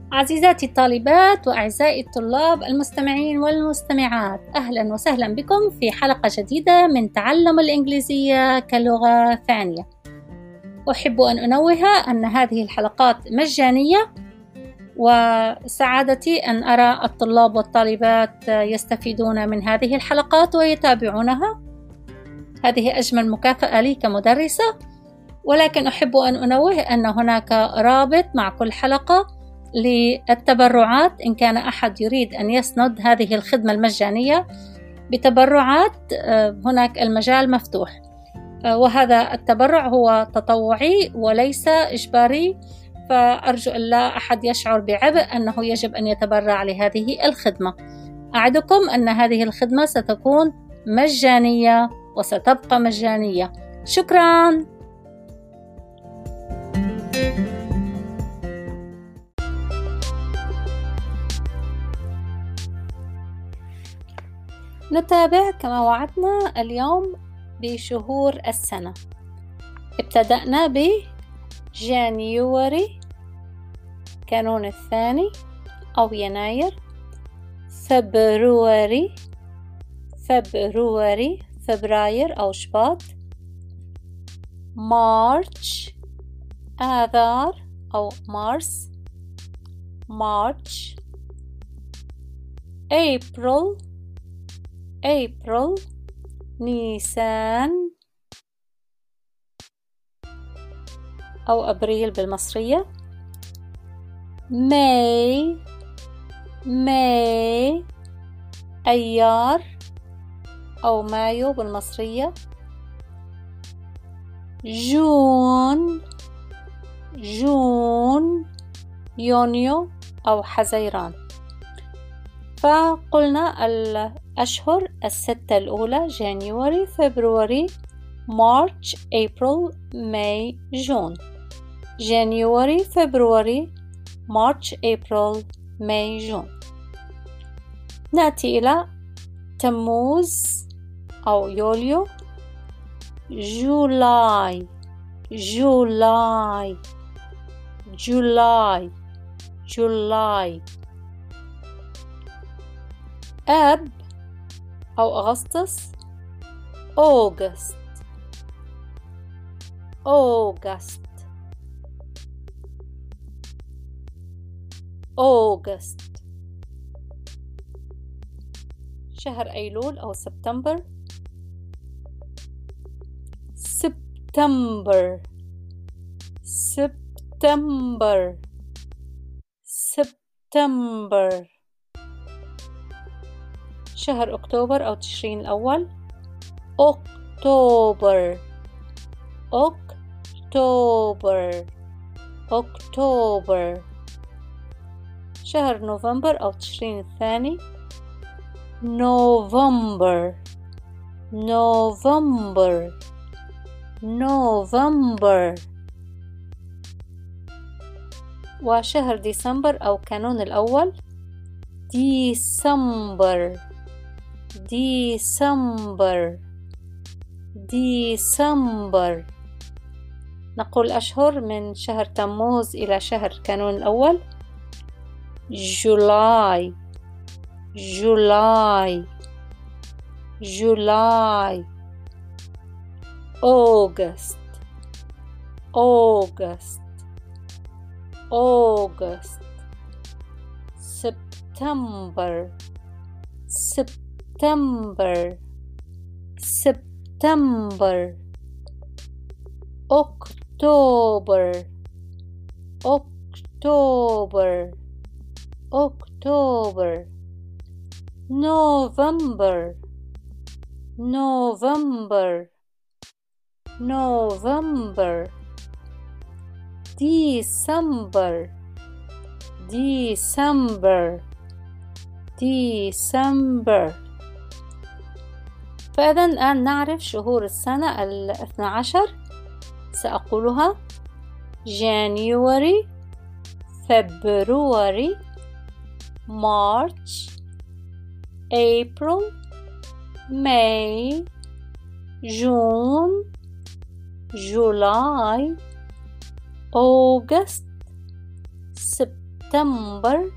عزيزاتي الطالبات وأعزائي الطلاب المستمعين والمستمعات، أهلا وسهلا بكم في حلقة جديدة من تعلم الإنجليزية كلغة ثانية. أحب أن أنوه أن هذه الحلقات مجانية، وسعادتي أن أرى الطلاب والطالبات يستفيدون من هذه الحلقات ويتابعونها. هذه أجمل مكافأة لي كمدرسة، ولكن أحب أن أنوه أن هناك رابط مع كل حلقة للتبرعات. إن كان أحد يريد أن يسند هذه الخدمة المجانية بتبرعات، هناك المجال مفتوح، وهذا التبرع هو تطوعي وليس إجباري، فأرجو أن لا أحد يشعر بعبء أنه يجب أن يتبرع لهذه الخدمة. أعدكم أن هذه الخدمة ستكون مجانية وستبقى مجانية. شكراً. نتابع كما وعدنا اليوم بشهور السنة. ابتدأنا بجانيوري كانون الثاني أو يناير، فبراير أو شباط، مارش آذار أو مارش، أبريل نيسان أو أبريل بالمصرية، ماي أيار أو مايو بالمصرية، جون يونيو أو حزيران. فقلنا الأشهر الستة الأولى: جانيوري، فبراير، مارش، أبريل، ماي، جون. جانيوري، فبراير، مارش، أبريل، ماي، جون. نأتي إلى تموز أو يوليو، جولاي، آب أو أغسطس، أوغست. شهر أيلول أو سبتمبر، سبتمبر. شهر أكتوبر أو تشرين الأول، أكتوبر. شهر نوفمبر أو تشرين الثاني، نوفمبر. وشهر ديسمبر أو كانون الأول، ديسمبر. نقول أشهر من شهر تموز إلى شهر كانون الأول: جولاي، أوغست، سبتمبر، أكتوبر، نوفمبر، ديسمبر. فإذا الآن نعرف شهور السنة 12. سأقولها: جانيوري، فبراير، مارش، أبريل، ماي، جون، جولاي، أوغست، سبتمبر، سبتمبر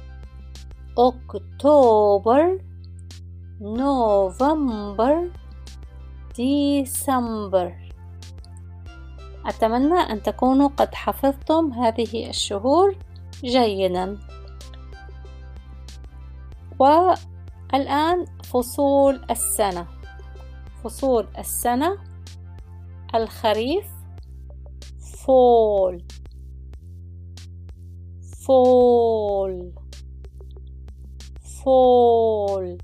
أكتوبر نوفمبر ديسمبر. أتمنى أن تكونوا قد حفظتم هذه الشهور جيدا. والآن فصول السنة. فصول السنة: الخريف فول فول فول.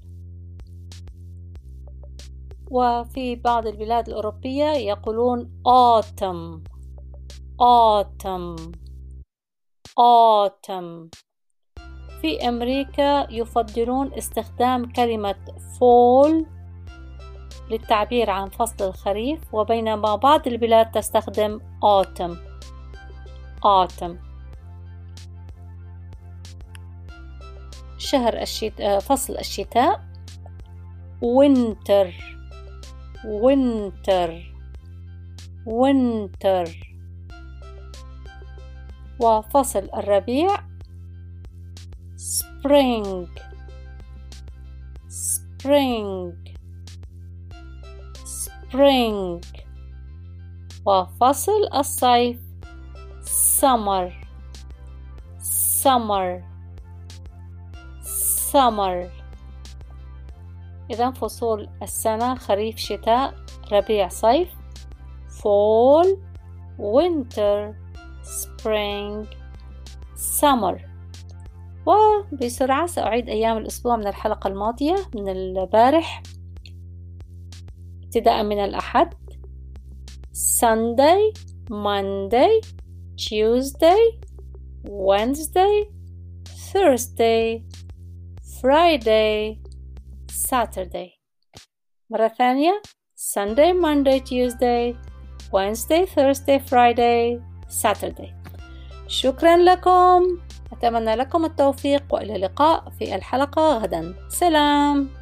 وفي بعض البلاد الأوروبية يقولون autumn autumn autumn. في أمريكا يفضلون استخدام كلمة fall للتعبير عن فصل الخريف، وبينما بعض البلاد تستخدم autumn autumn. فصل الشتاء winter winter winter. وفصل الربيع spring spring spring. وفصل الصيف summer summer summer. إذن فصول السنة: خريف شتاء ربيع صيف، fall winter spring summer. وبسرعة سأعيد أيام الأسبوع من الحلقة الماضية من البارح، ابتداء من الأحد: Sunday Monday Tuesday Wednesday Thursday Friday Saturday. مرة ثانية: Sunday Monday Tuesday Wednesday Thursday Friday Saturday. شكرا لكم، أتمنى لكم التوفيق، وإلى اللقاء في الحلقة غدا. سلام.